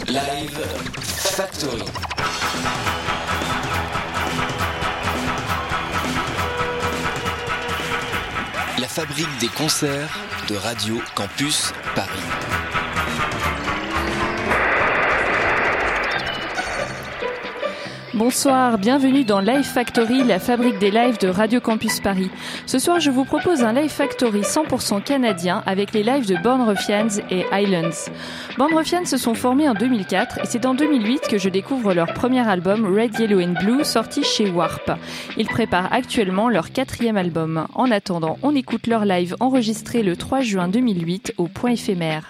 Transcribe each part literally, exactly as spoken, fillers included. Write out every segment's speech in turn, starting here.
Live Factory. La fabrique des concerts de Radio Campus Paris. Bonsoir, bienvenue dans Live Factory, la fabrique des lives de Radio Campus Paris. Ce soir, je vous propose un Live Factory cent pour cent canadien avec les lives de Born Ruffians et Islands. Born Ruffians se sont formés en deux mille quatre et c'est en deux mille huit que je découvre leur premier album Red, Yellow and Blue sorti chez Warp. Ils préparent actuellement leur quatrième album. En attendant, on écoute leur live enregistré le trois juin deux mille huit au Point Éphémère.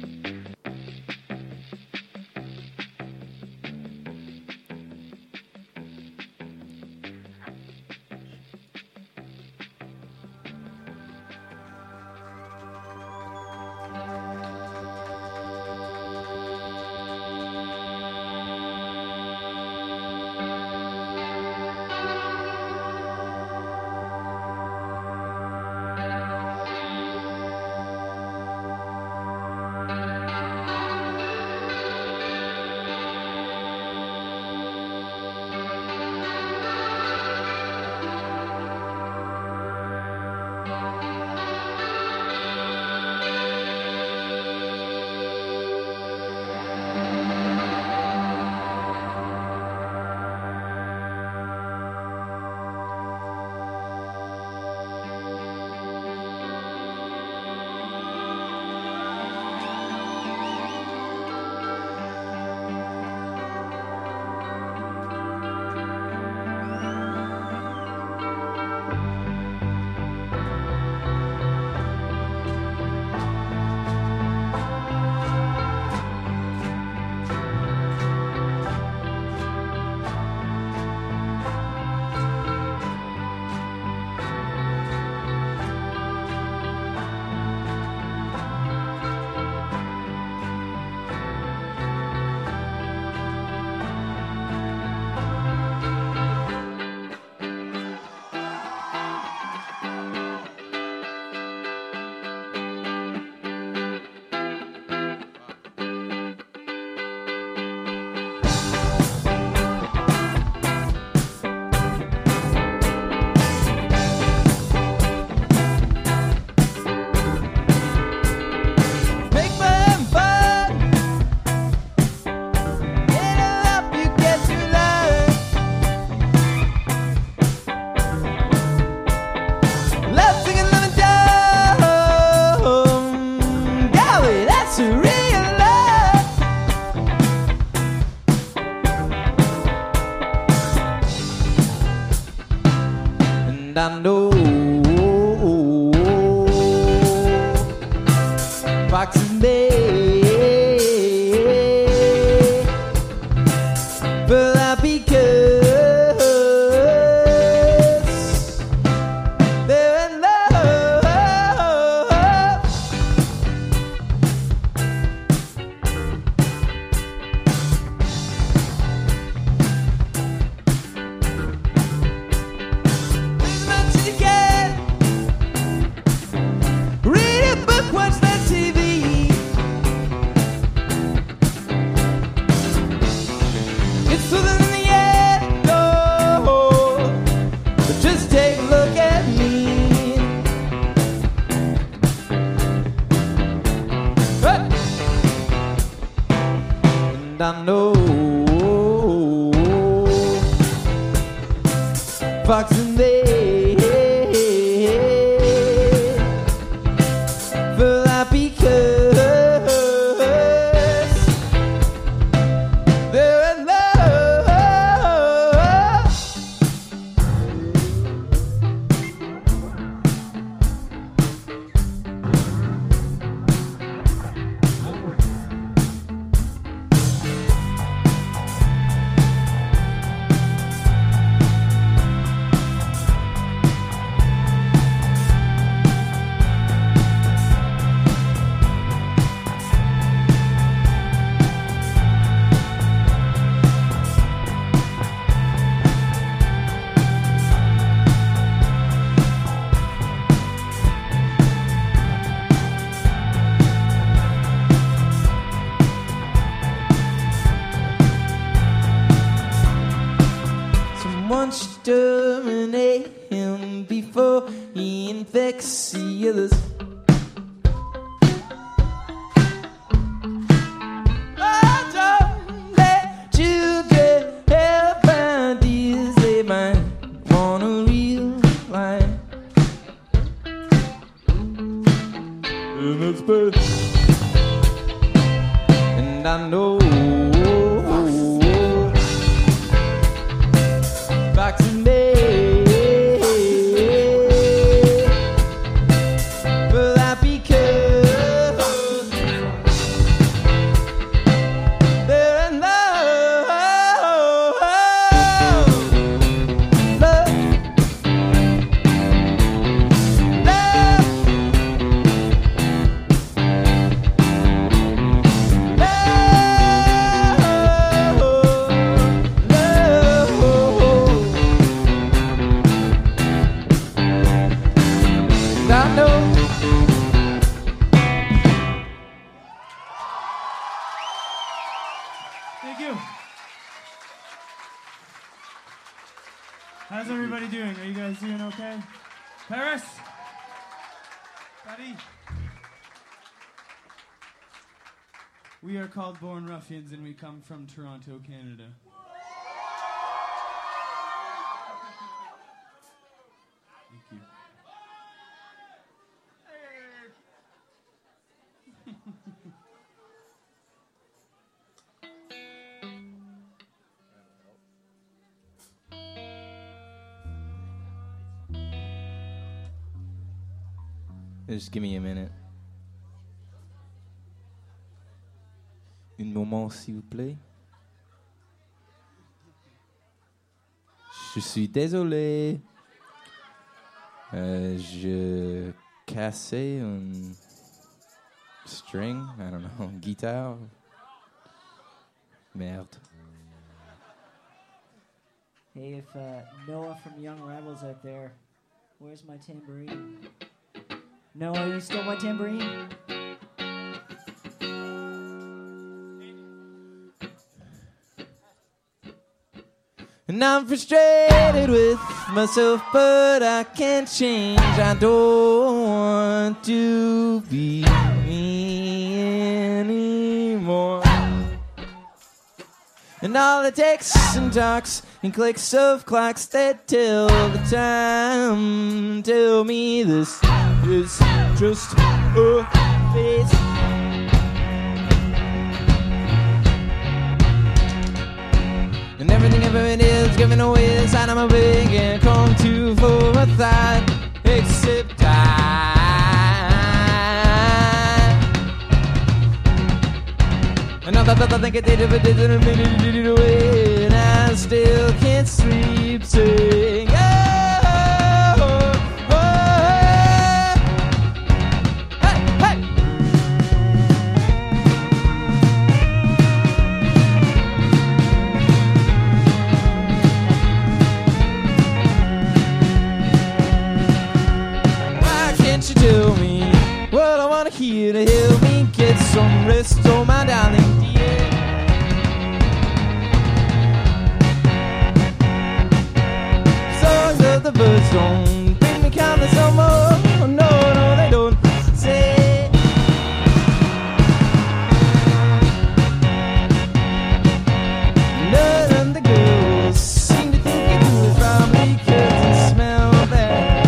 I know foxes may, but that because they're in love. I know fox and they, but that because they're in love. exterminate him before he infects the others. Oh, don't let children have ideas they might wanna realize. And that's bad. And I know back to me. Will that be because there is love, love, I know. Thank you. How's everybody doing? Are you guys doing okay? Paris? Buddy? We are called Born Ruffians and we come from Toronto, Canada. Thank you. Just give me a minute. Un moment, s'il vous plaît. Je suis désolé. Euh, je cassais un string, I don't know, guitare. Merde. Hey, if uh, Noah from Young Rebels out there, where's my tambourine? Noah, you stole my tambourine? And I'm frustrated with myself, but I can't change. I don't want to be me anymore. And all the texts and talks and clicks of clocks that tell the time tell me this is just a phase. And everything ever it is given away inside of my big and come to for a thought, except I. And I thought I think I did it, but did it, minute did it away, and I still can't sleep. Saying, oh, oh, oh, hey, hey. Why can't you tell me what I wanna hear to help me get some rest, oh my darling dear? Songs of the birds don't bring me countless no more. No, no, they don't say. None of the girls seem to think it was probably 'cause they smell bad.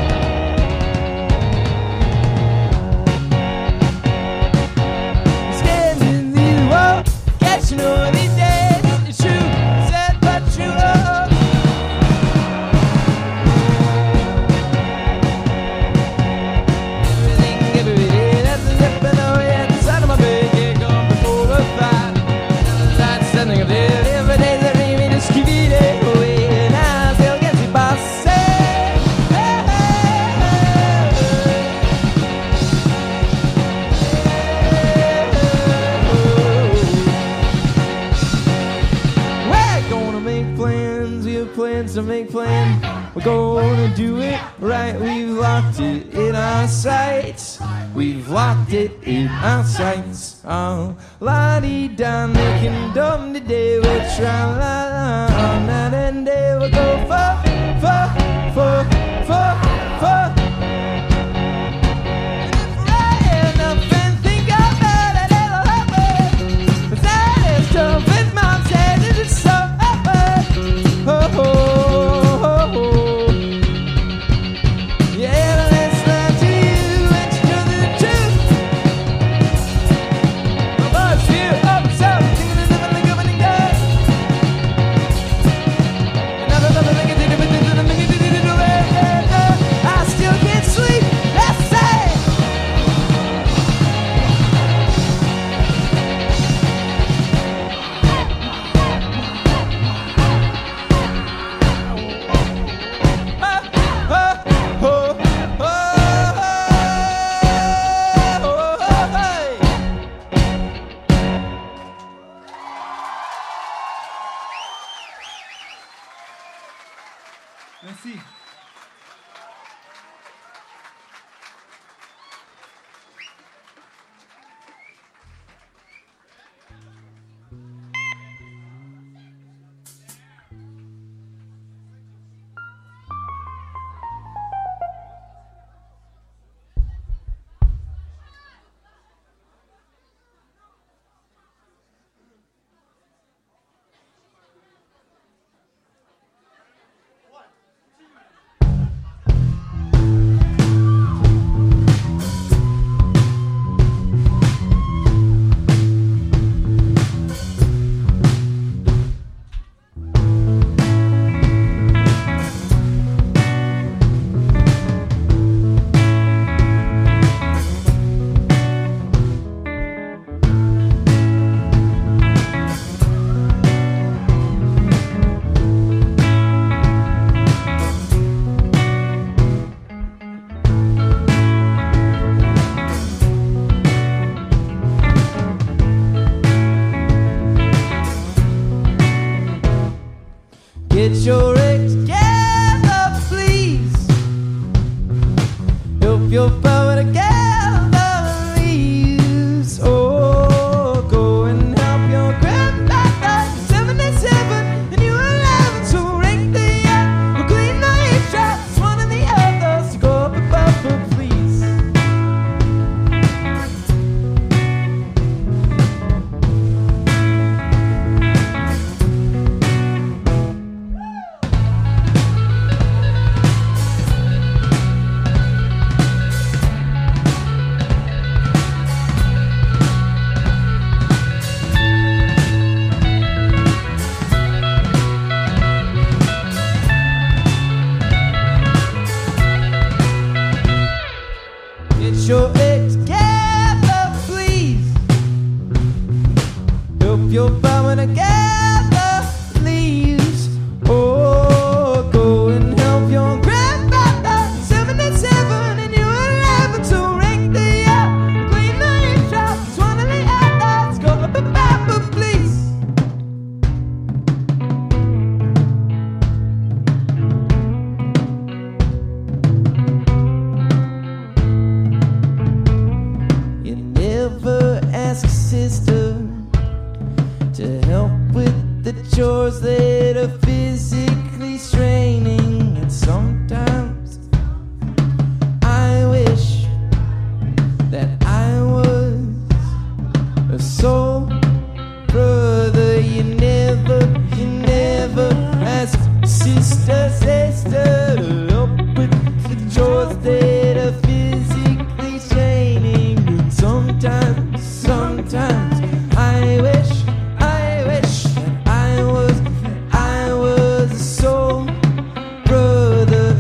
Standing these walls, catching all these days. It's true, sad but true. Oh. Everything, every day, that's a zip and oh yeah, the side of my bed, yeah, gone before a fight. That's something I did every day that made me just keep it away, and I still get the boss say, hey, we're gonna make plans, we have plans to make plans. We're gonna do it right, we've locked it in our sights. we've locked it in our sights. Oh, la-dee-da, making dumb today. We'll try la-la, night and day. We'll go for, for, for, for, for. And if I end up and think about it, it'll happen. But that is tough with mom said it is so happen. Oh, oh, oh, oh. Yeah, let's lie to you and you know the truth. My boss here up south, thinking of living like a winning guy. And I don't know if I can do it, but there's nothing I can do to do it. I still can't sleep, let's say. Oh, oh, oh, oh, oh, hey. Merci. Get your act together, please. Help your power together, please. Oh, go and help your grandmother, seventy-seven, and you eleven. So rank the year, we'll clean the eavesdrops, one and the others to go up above her, please. Get your act together, please. Help your power together, please. Oh, go and help your grandmother, seventy-seven, and you eleven. So rank the year, clean the eavesdrops, one of the others. Go up above, please. You never ask sister to help with the chores that are physically straining. And sometimes I wish that I was a soul brother. You never, you never ask sister, sister to help with the chores that are physically straining. And sometimes, sometimes I wish, I wish that I was, I was a soul brother.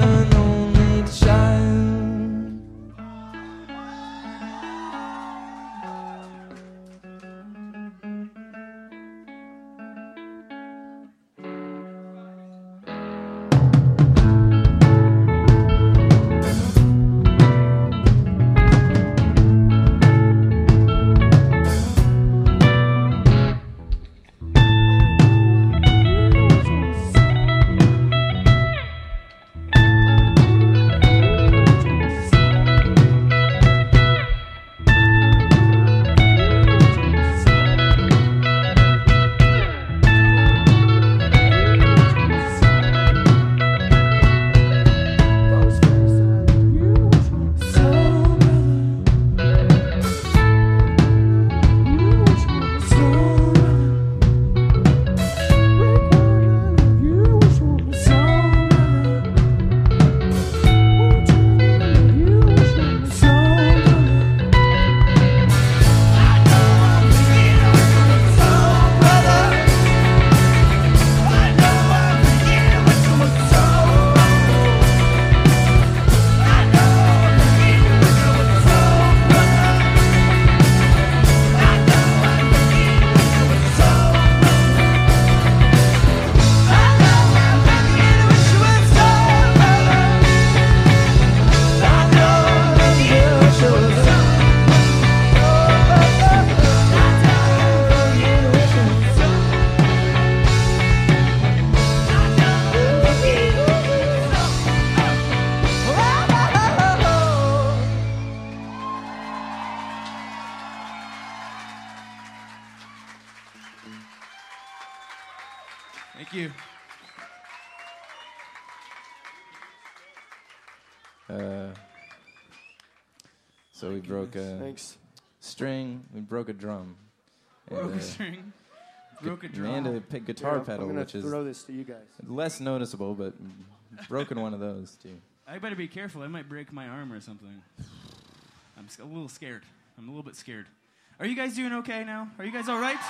Thank you. Uh, so we broke a Thanks. string, we broke a drum. and, Broke uh, a string. Broke a and drum. a pick guitar Here, pedal, I'm gonna which is throw this to you guys. less noticeable, but broken one of those too. I better be careful. I might break my arm or something. I'm s- a little scared. I'm a little bit scared. Are you guys doing okay now? Are you guys all right?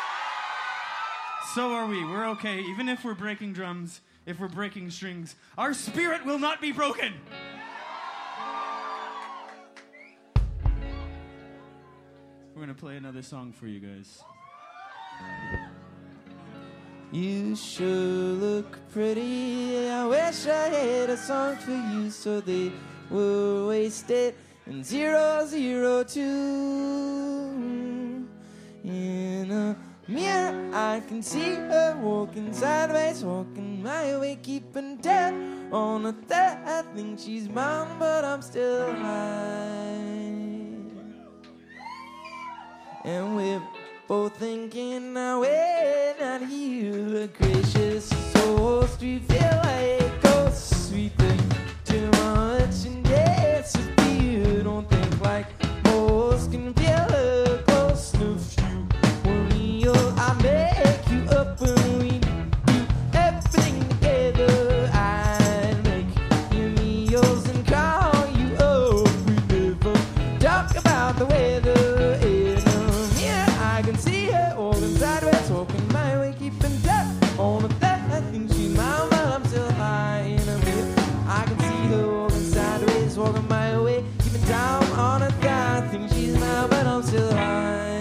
So are we. We're okay. Even if we're breaking drums, if we're breaking strings, our spirit will not be broken. We're going to play another song for you guys. You sure look pretty. I wish I had a song for you so they were wasted in zero zero two. In a mirror, I can see her walking sideways, walking my way, keeping tab on a third. I think she's mine, but I'm still high. And we're both thinking now we're not here. Gracious souls, we feel like ghosts. We think too much and disappear. Don't think like most can feel a close enough. You were real, I make you up when we do everything together. I make you meals and call you up. We never talk about the weather. I can see her walking sideways, walking my way, keeping tab on a third. I think she's mine, but I'm still high in a mirror. I can see her walking sideways, walking my way, keeping down on a third. I think she's mine, but I'm still high.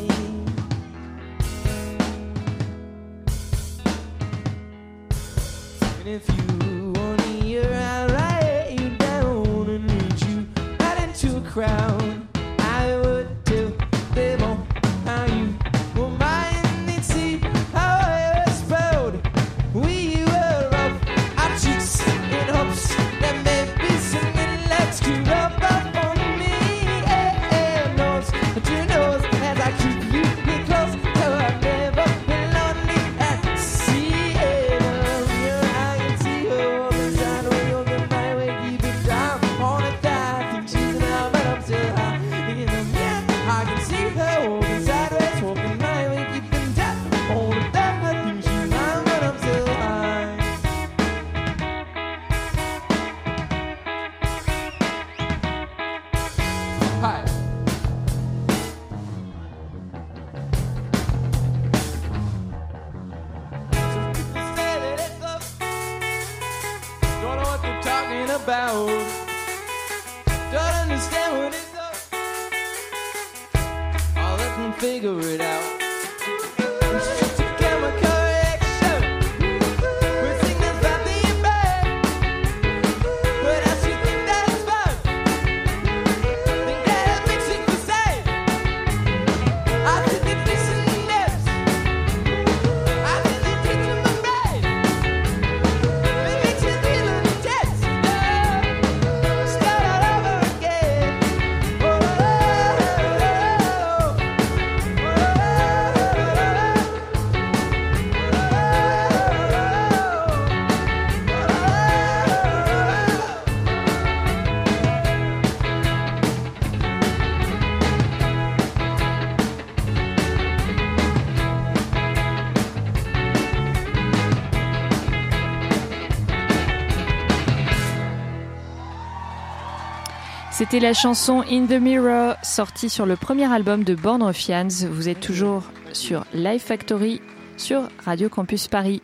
And if you want to hear, I'll write you down and read you right into a crowd. I would tell them all how you were mine. They'd see how I was proud. We were off our cheeks in hopes that maybe something let's keep up up on me. And knows that you know as I keep you here close, so I've never been lonely at sea. And I can see her walking sideways, walking my way, keep it down on a thigh. I think she's now, but I'm still high in the mirror. I can see her walking sideways, walking my way, keeping down on a thigh. I think she's mine, but I'm still high. Hi. Some people say that it's love. Don't know what they're talking about. Don't understand what it's love. I'll let them figure it out. It's just a chemical reaction. We think that's bad, being bad. But I still think that it's fun. Think that it makes it the same. I think it fits in the lips. I think it fits in my brain. It makes it feel intense. Start all over again. Oh, oh, oh, C'était la chanson In the Mirror, sortie sur le premier album de Born Ruffians. Vous êtes toujours sur Live Factory sur Radio Campus Paris.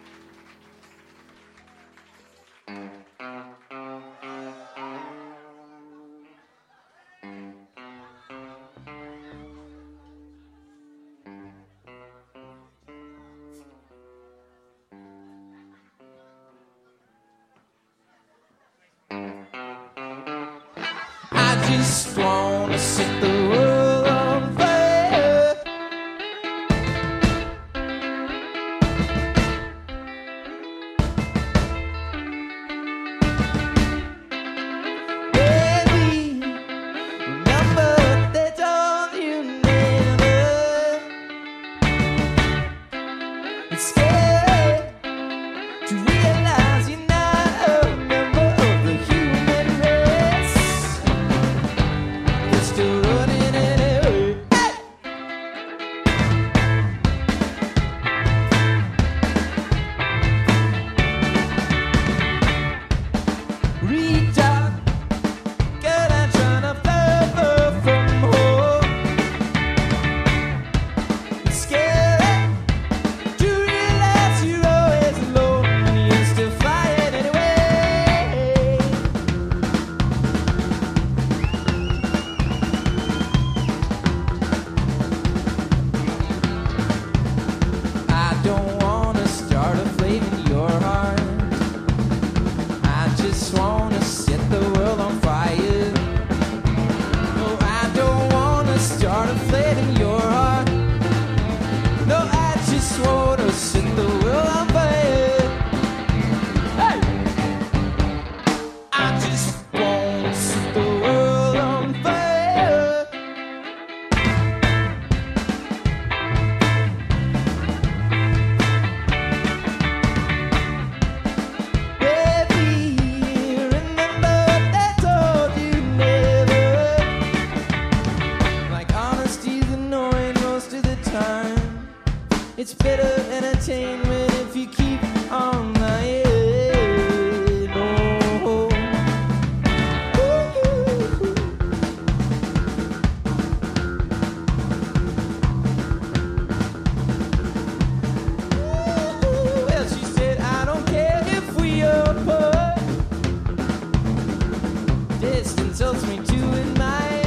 I just wanna set the world on fire. Baby, remember they told you never. It's scary much better entertainment if you keep on lying. Oh. Well, she said, I don't care if we are apart. Distance helps me to admire.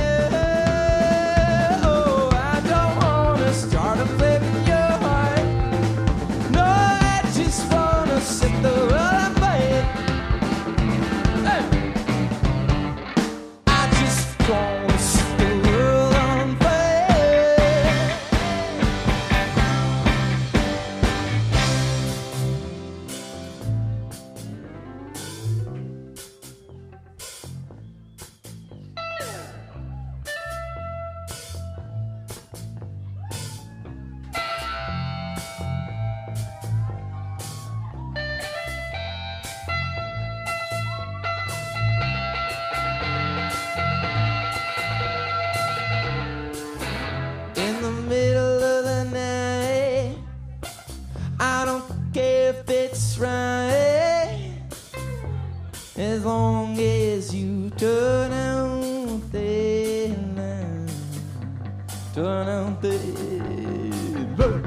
Oh, I don't wanna start a flip in your heart. No, I just wanna set the world on fire. Hey. I just wanna set the world on fire. In the middle of the night, I don't care if it's right, as long as you turn out the light, turn out the light.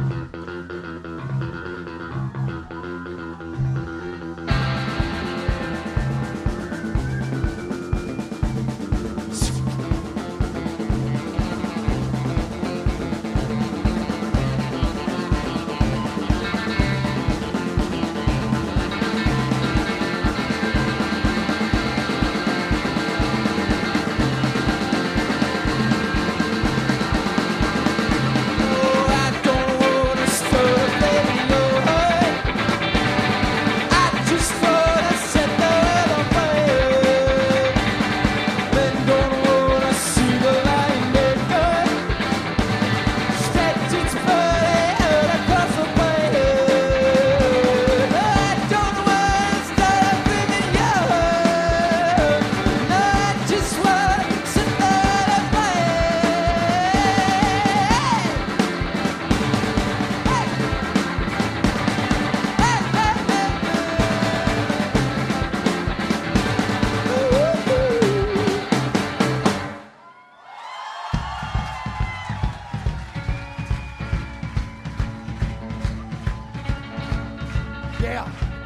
Yeah.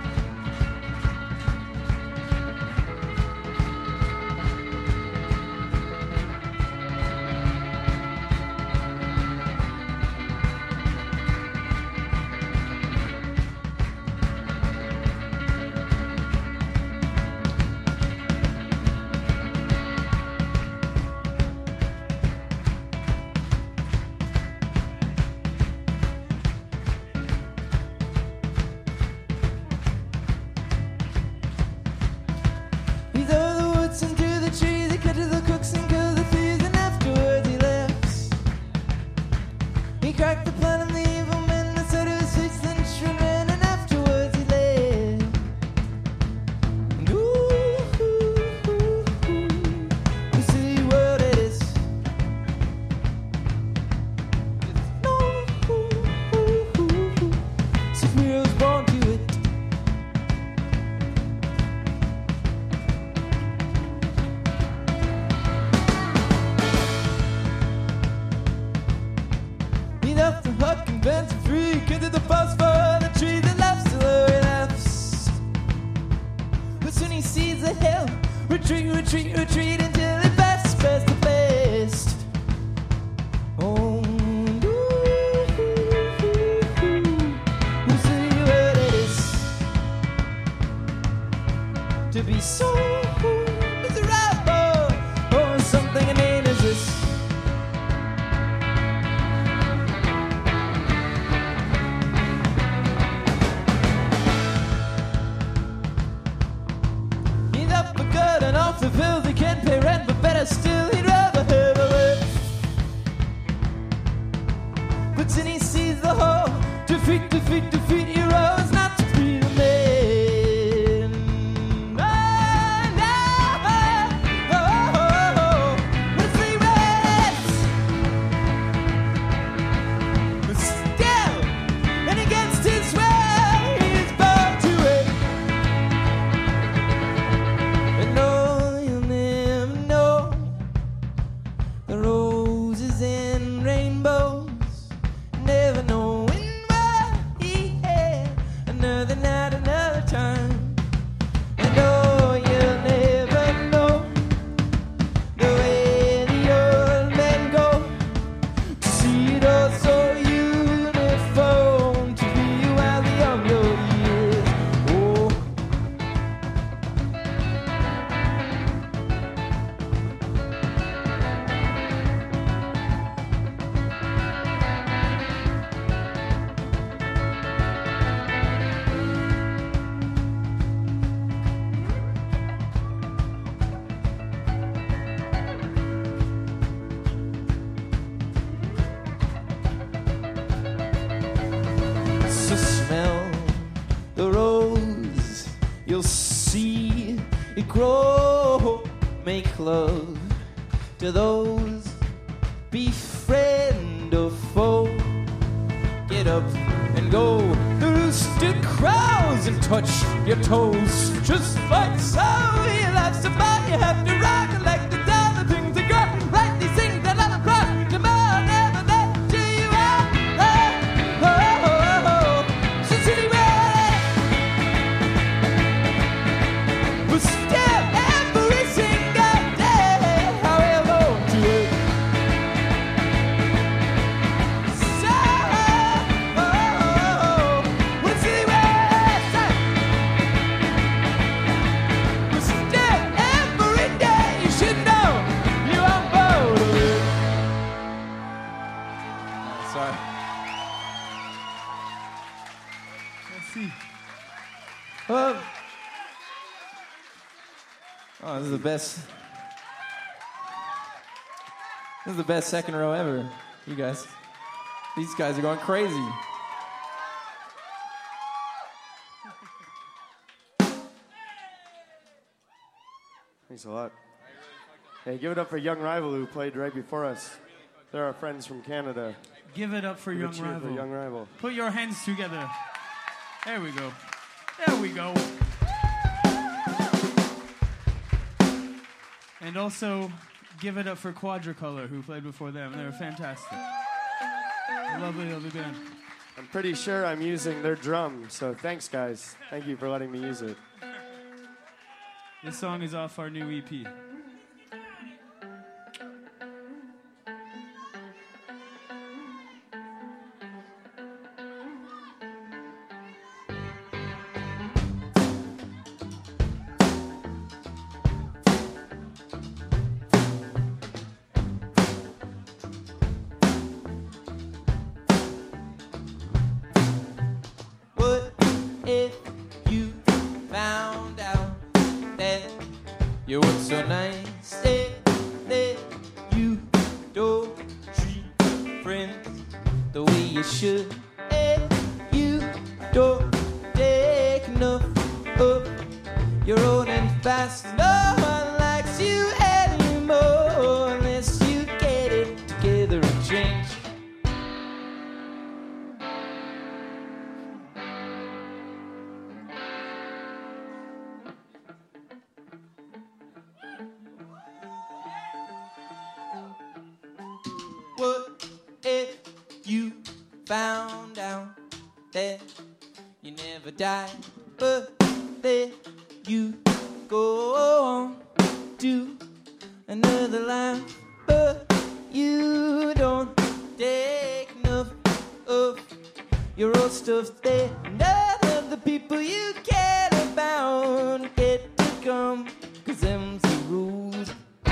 He's over the woods and through the trees. He cut to the crooks and killed the thieves, and afterwards he left. He cracked the plan of the evil men that said it was six inch ran, and afterwards he left. And ooh, ooh, ooh, ooh, you see what it is. It's no, ooh, ooh, ooh, ooh. Six mirrors born to it. He left the hut convinced and free, cut to the bus for the tree that laughs till he laughs. But soon he sees the hill, retreat, retreat, retreat until he best, best, the best. Oh, ooh, ooh, ooh, ooh. You see grow, make love to those, befriend a foe. Get up and go, the rooster crows and touch your toes. Just like so, you love somebody, you have to rock like the dollar things that got like these things that I'm across. Tomorrow never let you out. Oh, oh, oh, oh. So city red, but still every single day, how you want to it. So, oh, oh, oh. But city red, but still every day you should know you are bored of it. Sorry. Merci. Oh. Oh, this is the best. This is the best second row ever. You guys. These guys are going crazy. Thanks a lot. Hey, give it up for Young Rival who played right before us. They're our friends from Canada. Give it up for Give a Young cheer Rival. For Young Rival. Put your hands together. There we go. There we go. And also, give it up for Quadricolor, who played before them. They were fantastic. Lovely, lovely band. I'm pretty sure I'm using their drum, so thanks, guys. Thank you for letting me use it. This song is off our new E P. What if you found out that you were so nice? That, that you don't treat friends the way you should. And you don't take enough of your own and fast. No one likes you anymore unless you get it together and change. What if you found out that you never die, but that you go on to another life, but you don't take enough of your old stuff that none of the people you care about get to come, 'cause them's the rules.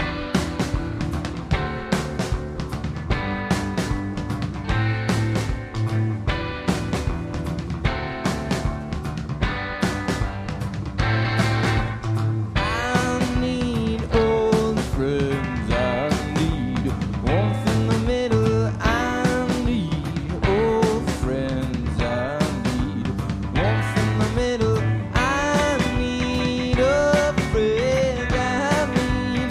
I need old friends, I need warmth in the middle, I need old friends, I need warmth in the middle, I need a friend, I need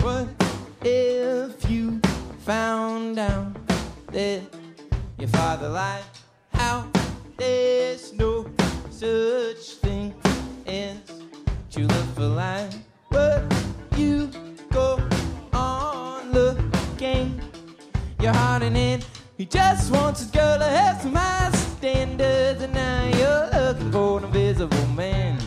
What if you found out that your father lied? How there's no such thing as true love for life, but you go on looking your heart in it. He just wants his girl to have some high standards, and now you're looking for an invisible man.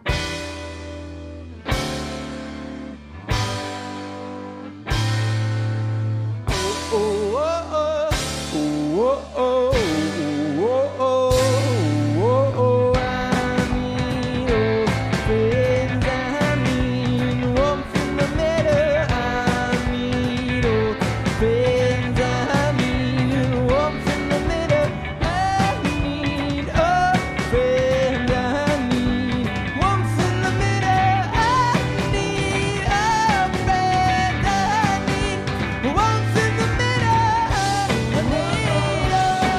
Oh, oh, oh, oh, oh, oh, oh, oh, oh, I need old friends, I need warmth in the middle, I need old friends, I need warmth in the middle, I need a friend, I need warmth in the middle, I need a friend, I need warmth in the middle, I need a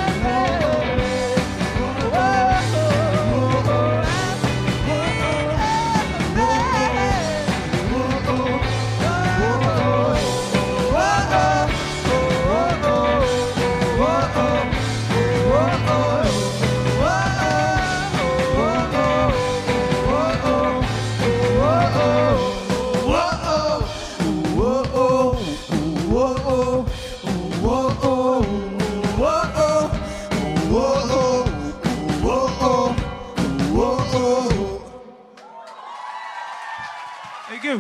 Thank you.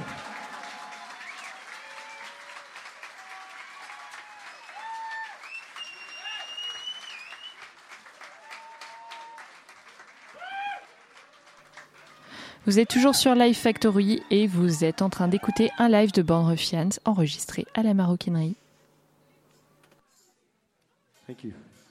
Vous êtes toujours sur Live Factory et vous êtes en train d'écouter un live de Born Ruffians enregistré à la Maroquinerie. Thank you.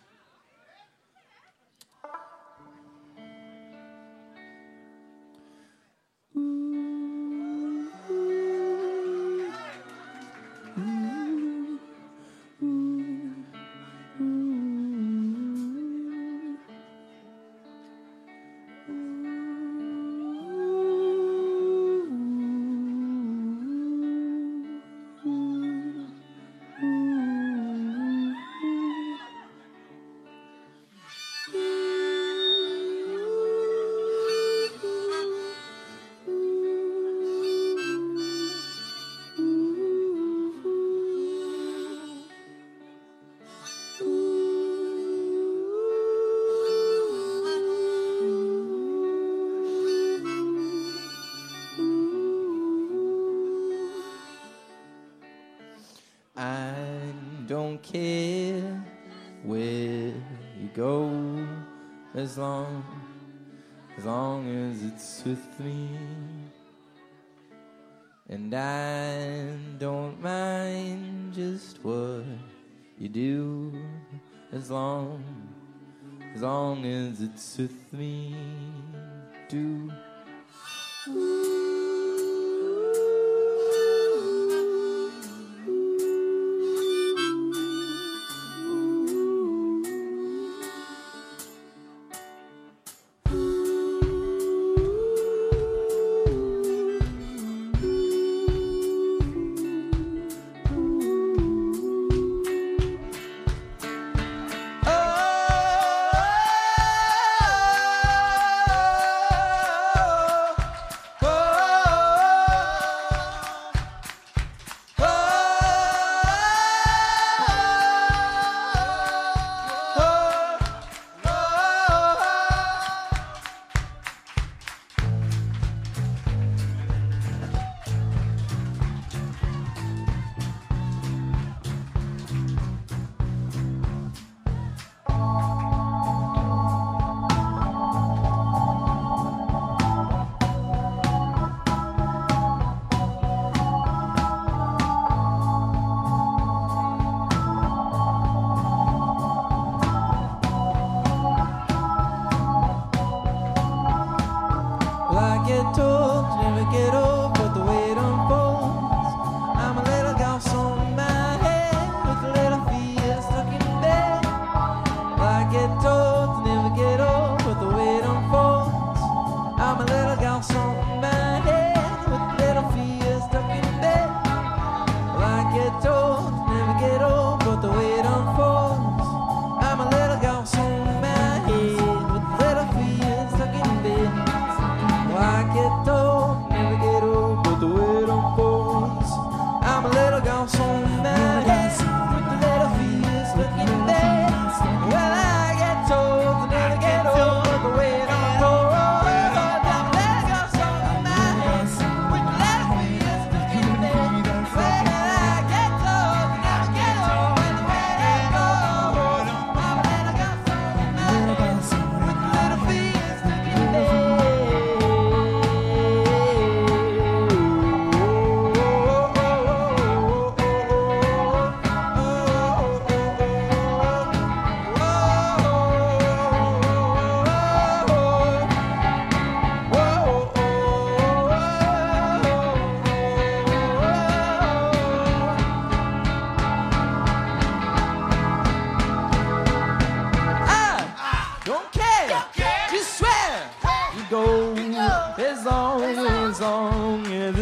I don't care where you go, as long, as long as it's with me. And I don't mind just what you do, as long, as long as it's with me. Do. Oh,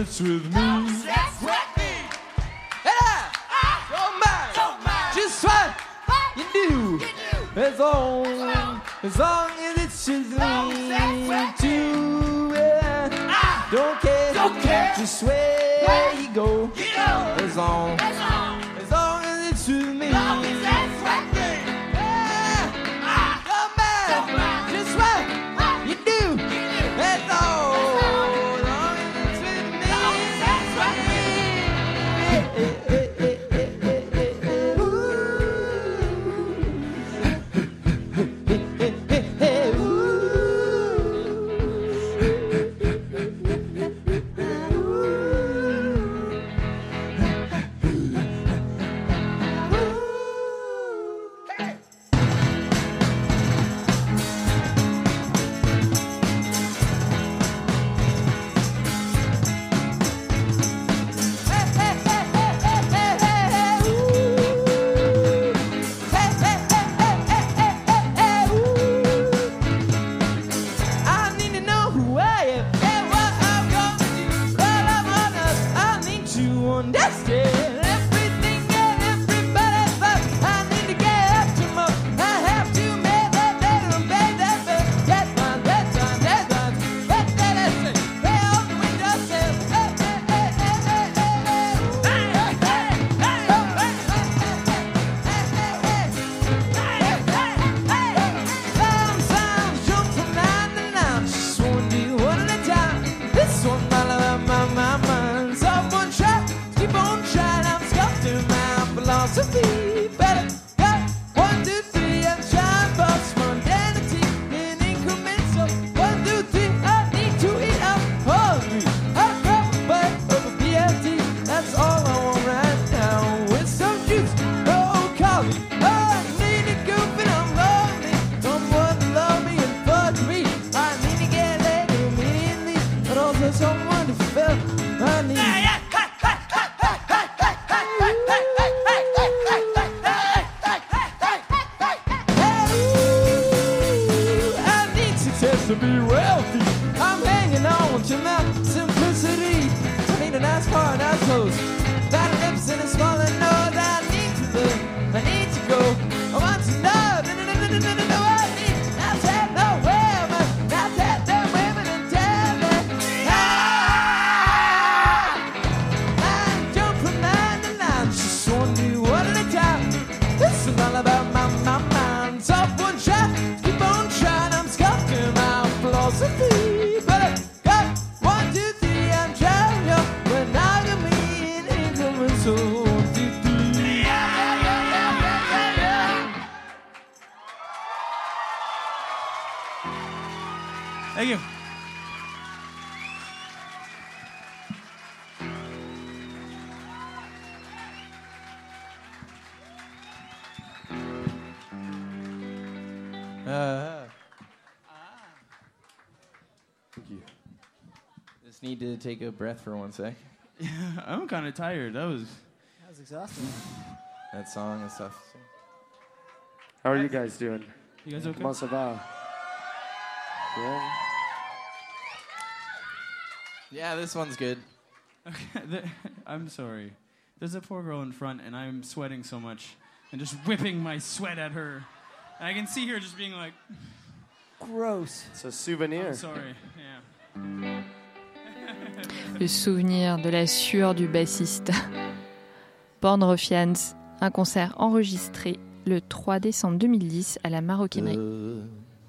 it's with me. And I don't mind just what you do. As long, as long as it's with me too. Yeah. Don't care, don't care, just where you go. As long, as long as it's with me. Thank you. Uh, Thank you. Just need to take a breath for one sec. Yeah, I'm kind of tired. That was That was exhausting. That song and stuff. How are you guys doing? You guys okay? Comment ça va? Yeah. Yeah, this one's good. Okay, the, I'm sorry. There's a poor girl in front, and I'm sweating so much, and just whipping my sweat at her. And I can see her just being like, Gross. It's a souvenir. I'm sorry. Yeah. Le souvenir de la sueur du bassiste. Born Ruffians, un concert enregistré le trois décembre deux mille dix à la Maroquinerie. Uh,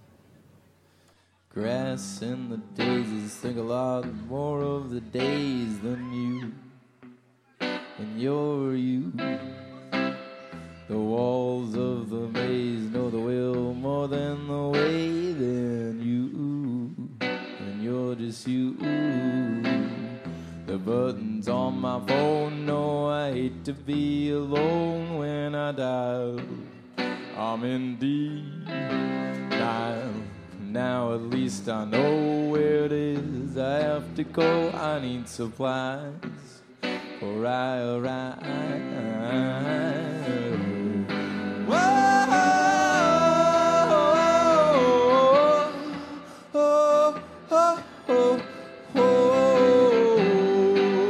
grass in the daisies, think a lot more of the days than you. And you're you. The walls of the maze know the will more than the way than you. And you're just you. The buttons on my phone know I hate to be alone when I dial. I'm in deep dial. Now at least I know where it is I have to go. I need supplies or I arrive. Whoa, oh, oh, oh, oh.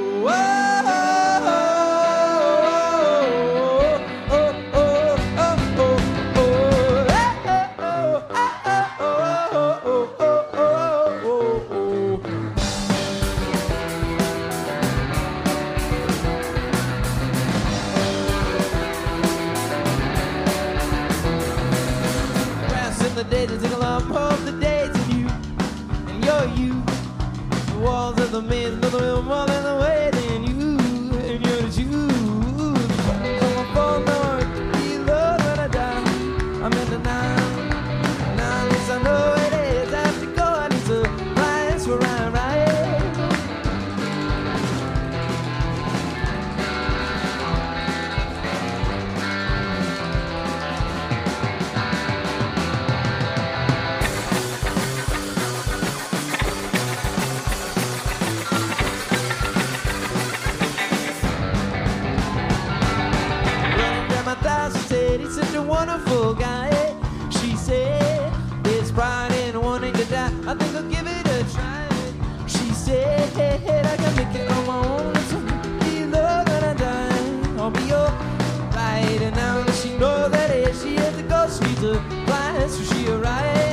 wonderful guy. She said, there's pride in wanting to die. I think I'll give it a try. She said, I can make it on my own. Be love when I die. I'll be your right. And now that she knows that it, she has to go. She's a fly, so she arrived.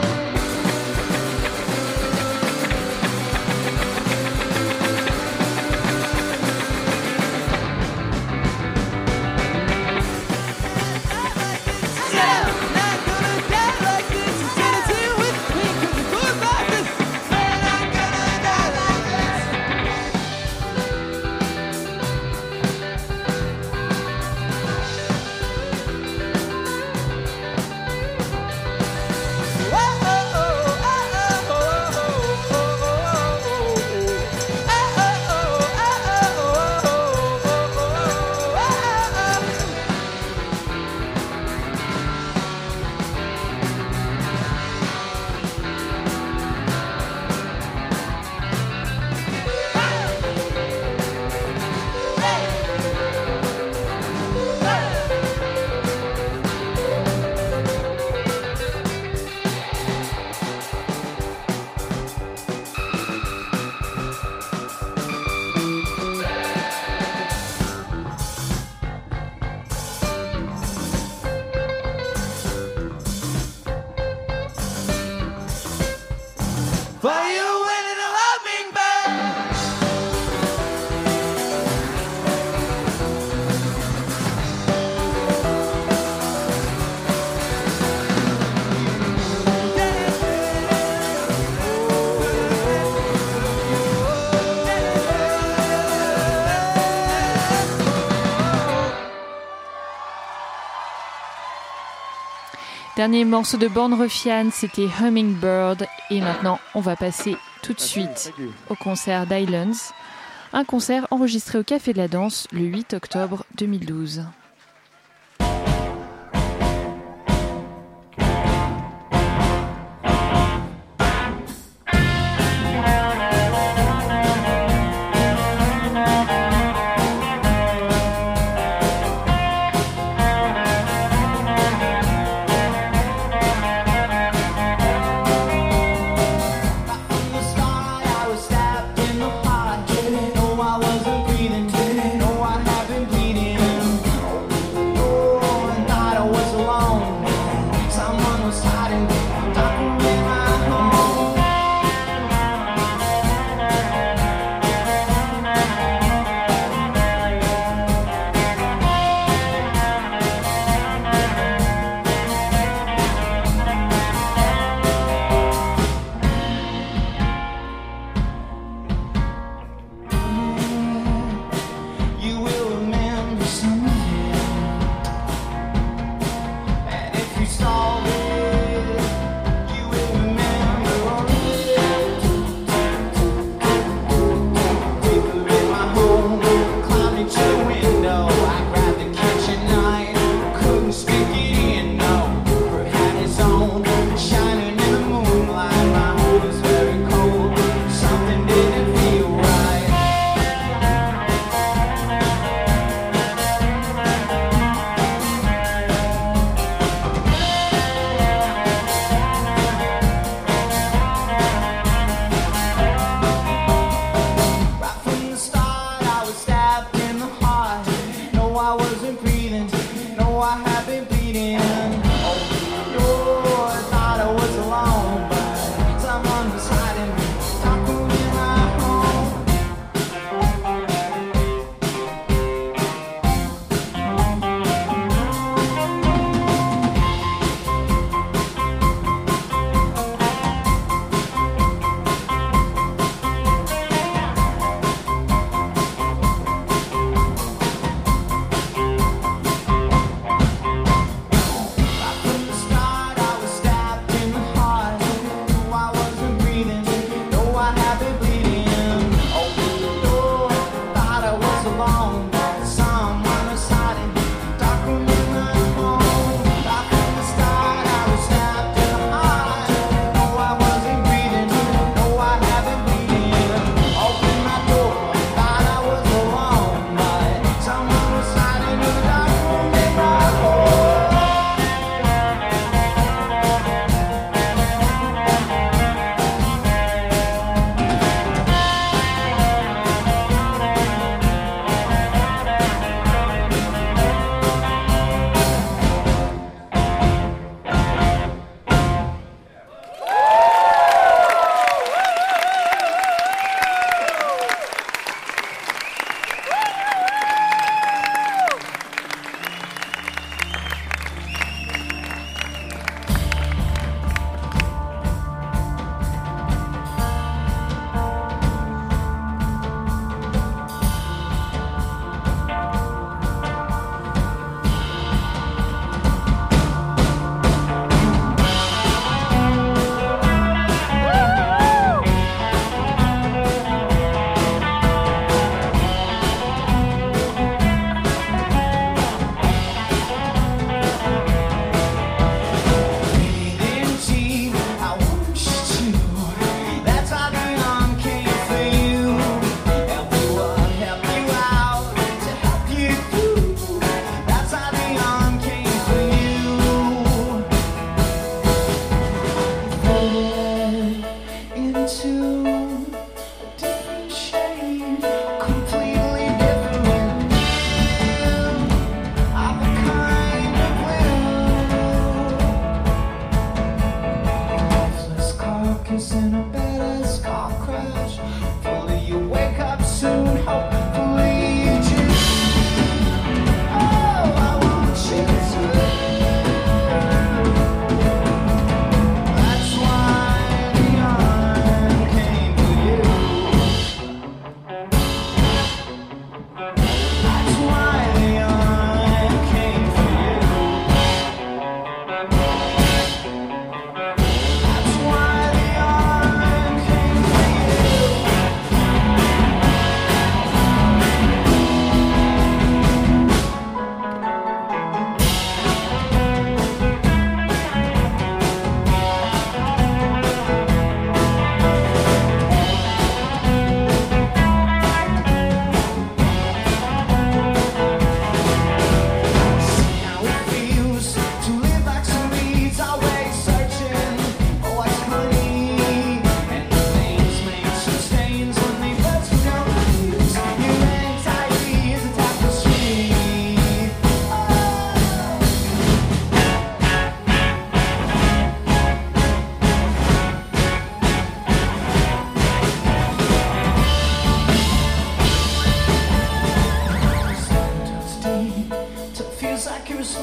Dernier morceau de Born Ruffian, c'était Hummingbird. Et maintenant, on va passer tout de suite au concert d'Islands. Un concert enregistré au Café de la Danse le huit octobre deux mille douze. Didn't know I wasn't breathing, didn't know I had been bleeding.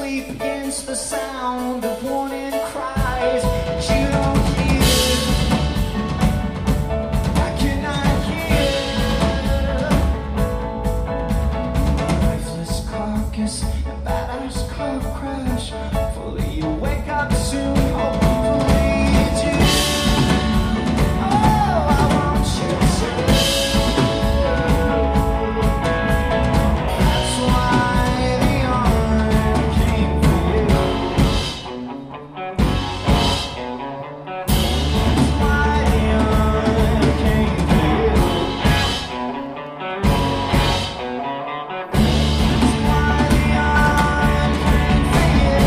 sleep against the sound of warning cries that you don't hear. I cannot hear. Lifeless carcass and badass car crash. Fully you wake up soon, hopefully it's you. Oh, I want you to. That's why the arm came for you. That's why the arm came for you. That's why the arm came for you.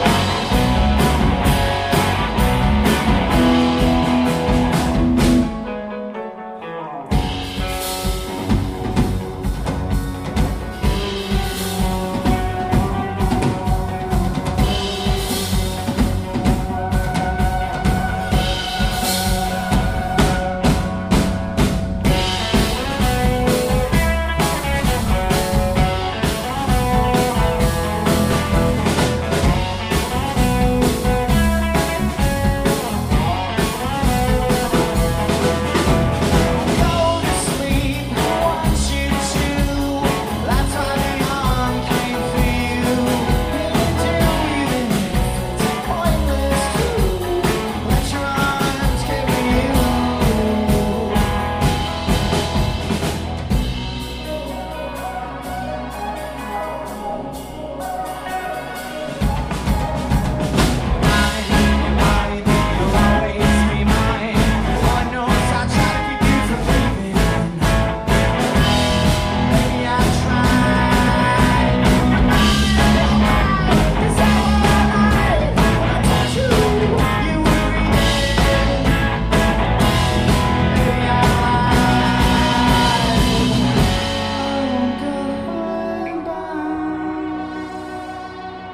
Go to sleep, I want you to. That's why the arm came for you. Do even if it's pointless to let your arms carry you. Mine, your body, then you'll always be mine. Lord knows I try to keep you from leaving. Maybe I tried. Is that right? I told you you would read it. Maybe I lied. I'm going down.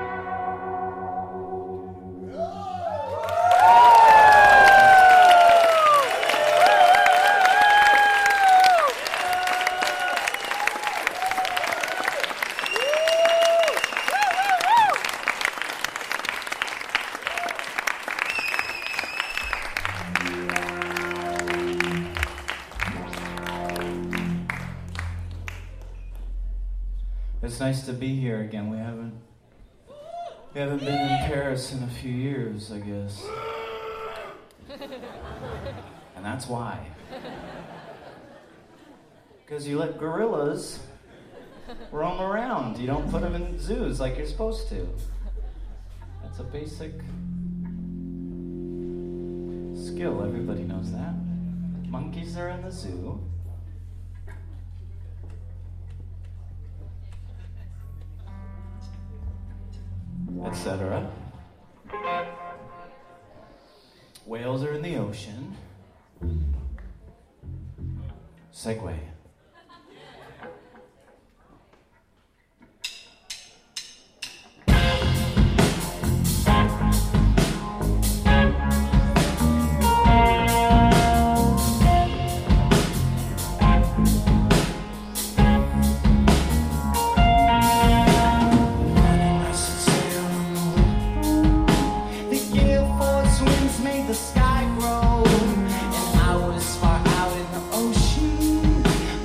It's nice to be here again. We haven't we haven't been in Paris in a few years, I guess. And that's why. Because you let gorillas roam around. You don't put them in zoos like you're supposed to. That's a basic skill. Everybody knows that. Monkeys are in the zoo. et cetera. Whales are in the ocean. Segway. The sky grow, and I was far out in the ocean.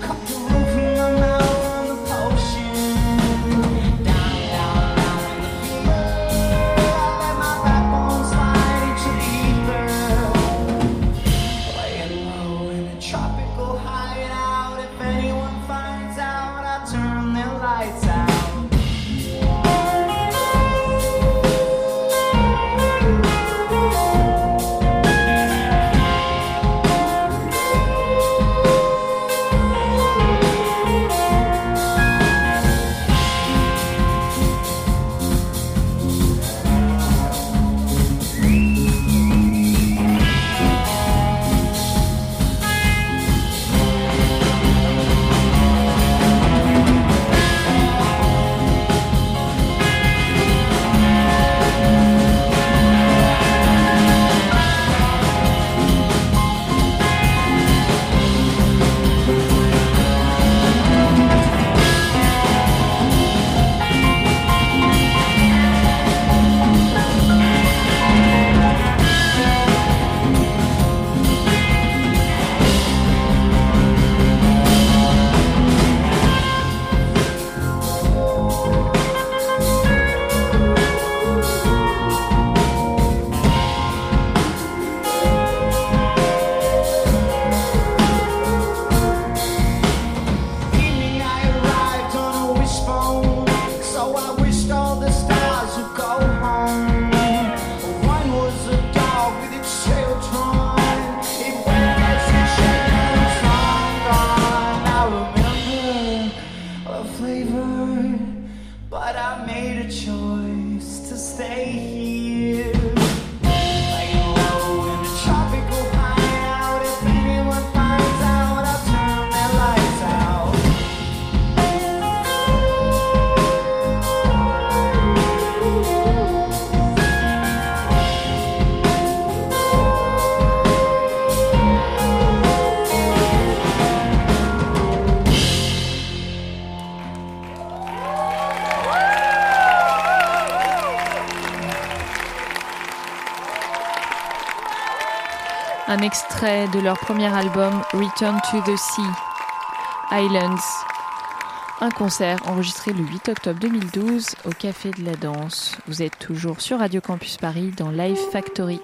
river, but I made a choice to stay here. Laying low in a tropical hideout. If anyone finds out, I'll turn their lights out. Un extrait de leur premier album Return to the Sea, Islands. Un concert enregistré le huit octobre deux mille douze au Café de la Danse. Vous êtes toujours sur Radio Campus Paris dans Live Factory.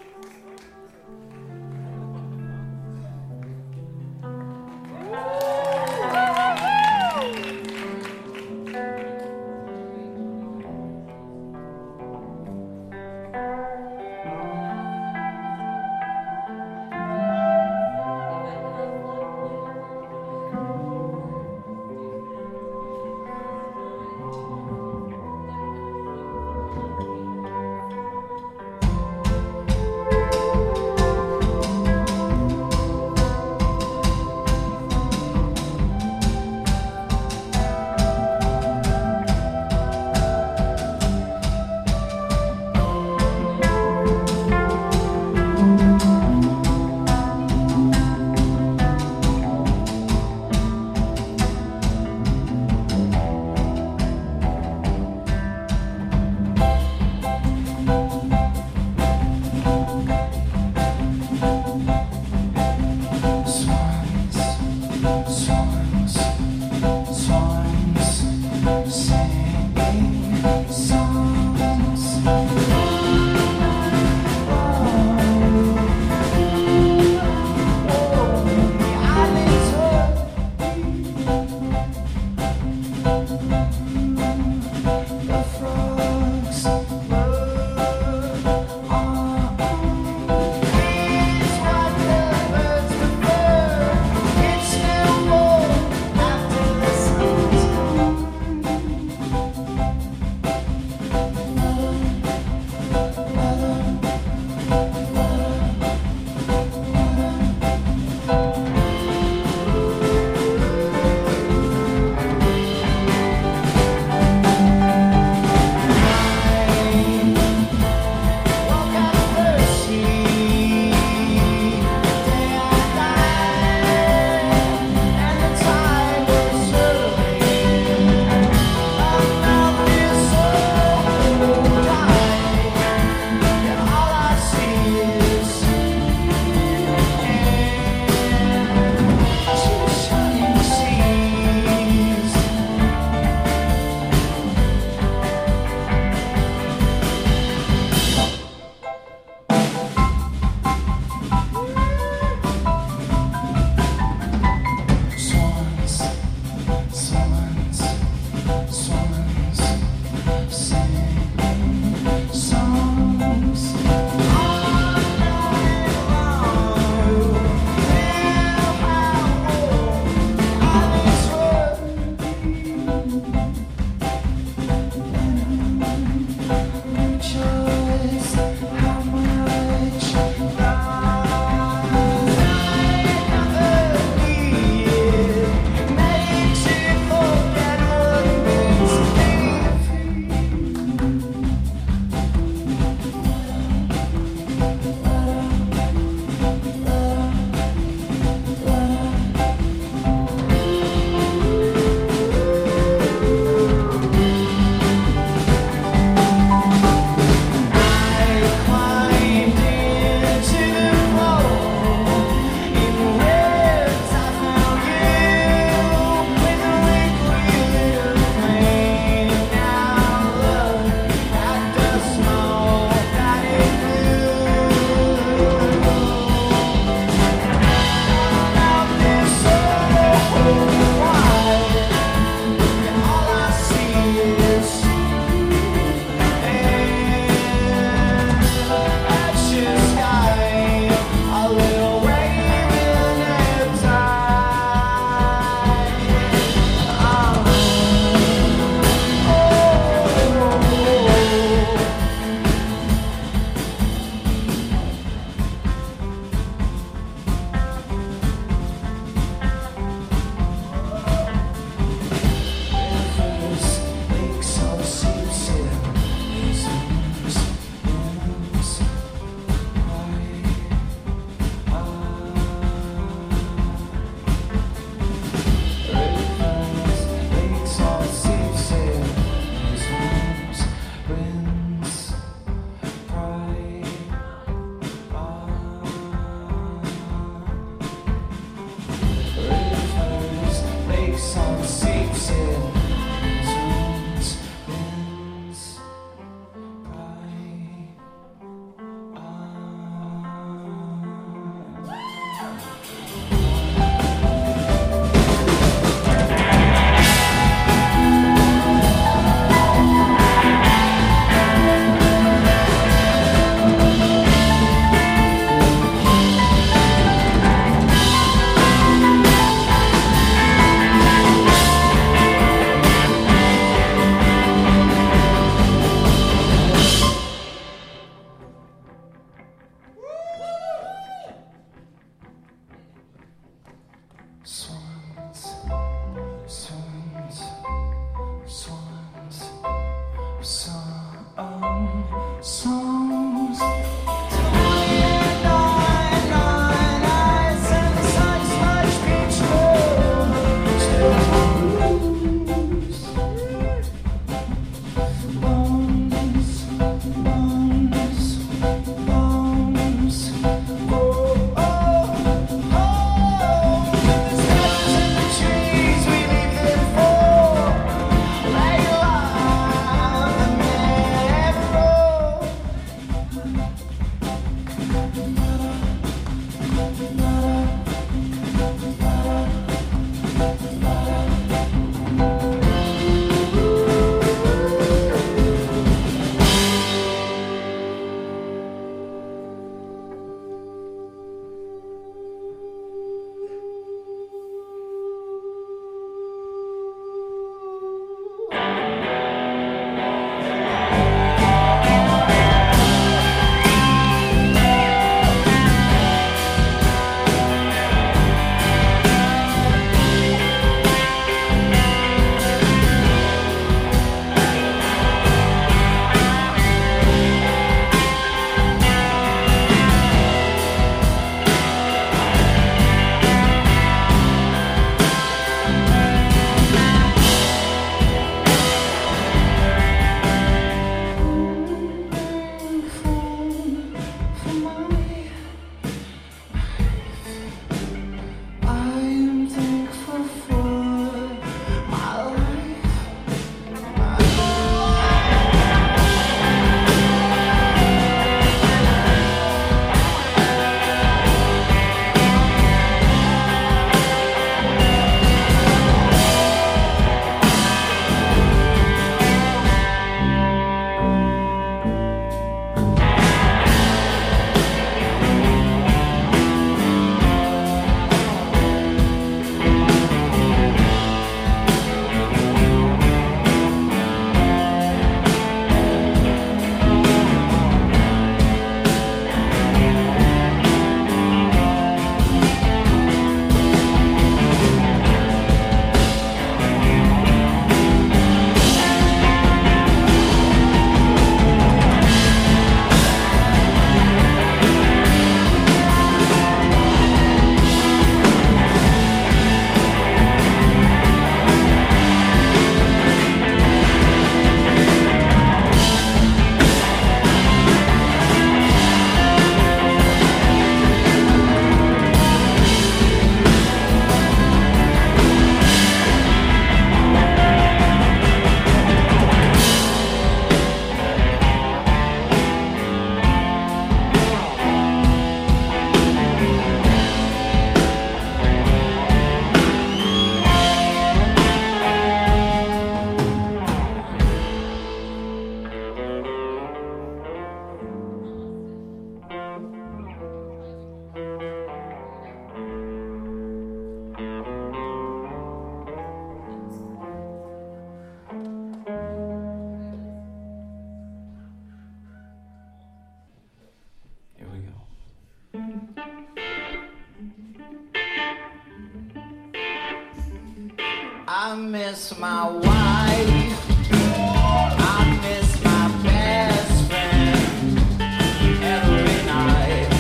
I miss my wife. I miss my best friend every night.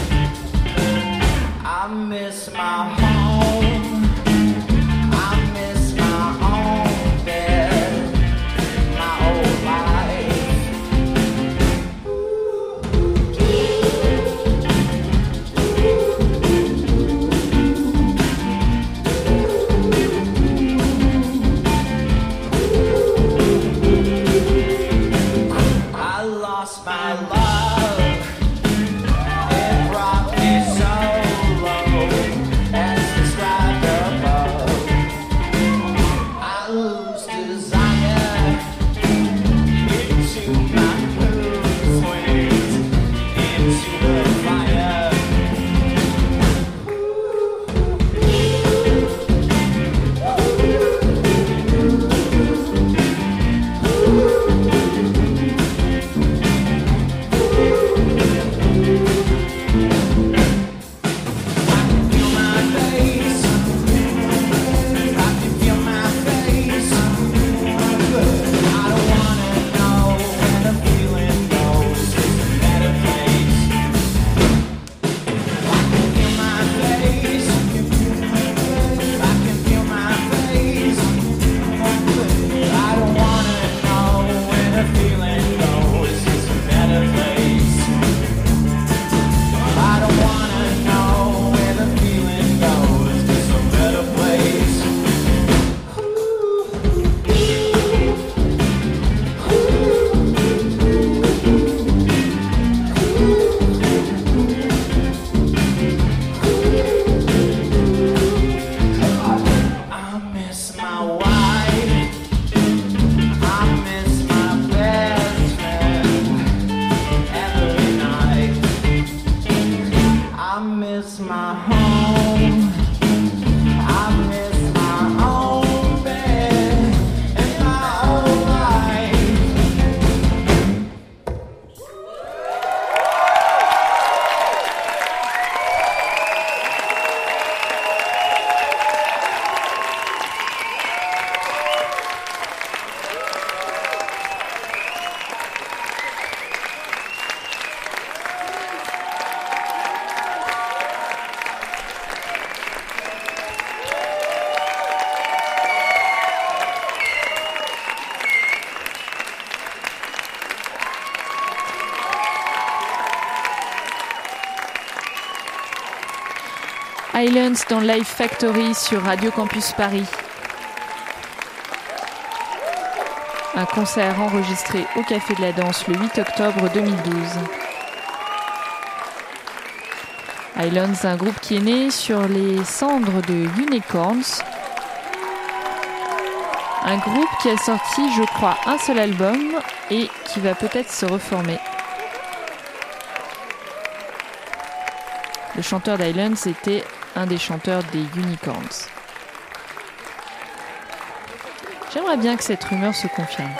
I miss my home. I miss my own bed, my old life. I lost my love. It brought me so low, as described above. I lose desire into my mood swings, into the fire. Feel my face. I can feel my face. I don't wanna know where the feeling goes. It's a better place. I can feel my face. I can feel my face. I don't wanna know where the feeling goes. It's a better place. I don't wanna know where the feeling goes. It's a better place. I miss my wife. I miss my best friend every night. I miss my home. I miss my own bed and my own life. Islands dans Live Factory sur Radio Campus Paris. Un concert enregistré au Café de la Danse le huit octobre deux mille douze. Islands, un groupe qui est né sur les cendres de Unicorns. Un groupe qui a sorti, je crois, un seul album et qui va peut-être se reformer. Le chanteur d'Islands était un des chanteurs des Unicorns. J'aimerais bien que cette rumeur se confirme.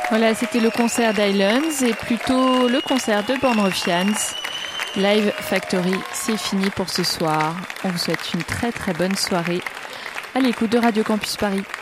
Voilà, c'était le concert d'Islands et plutôt le concert de Born Ruffians. Live Factory, c'est fini pour ce soir. On vous souhaite une très très bonne soirée à l'écoute de Radio Campus Paris.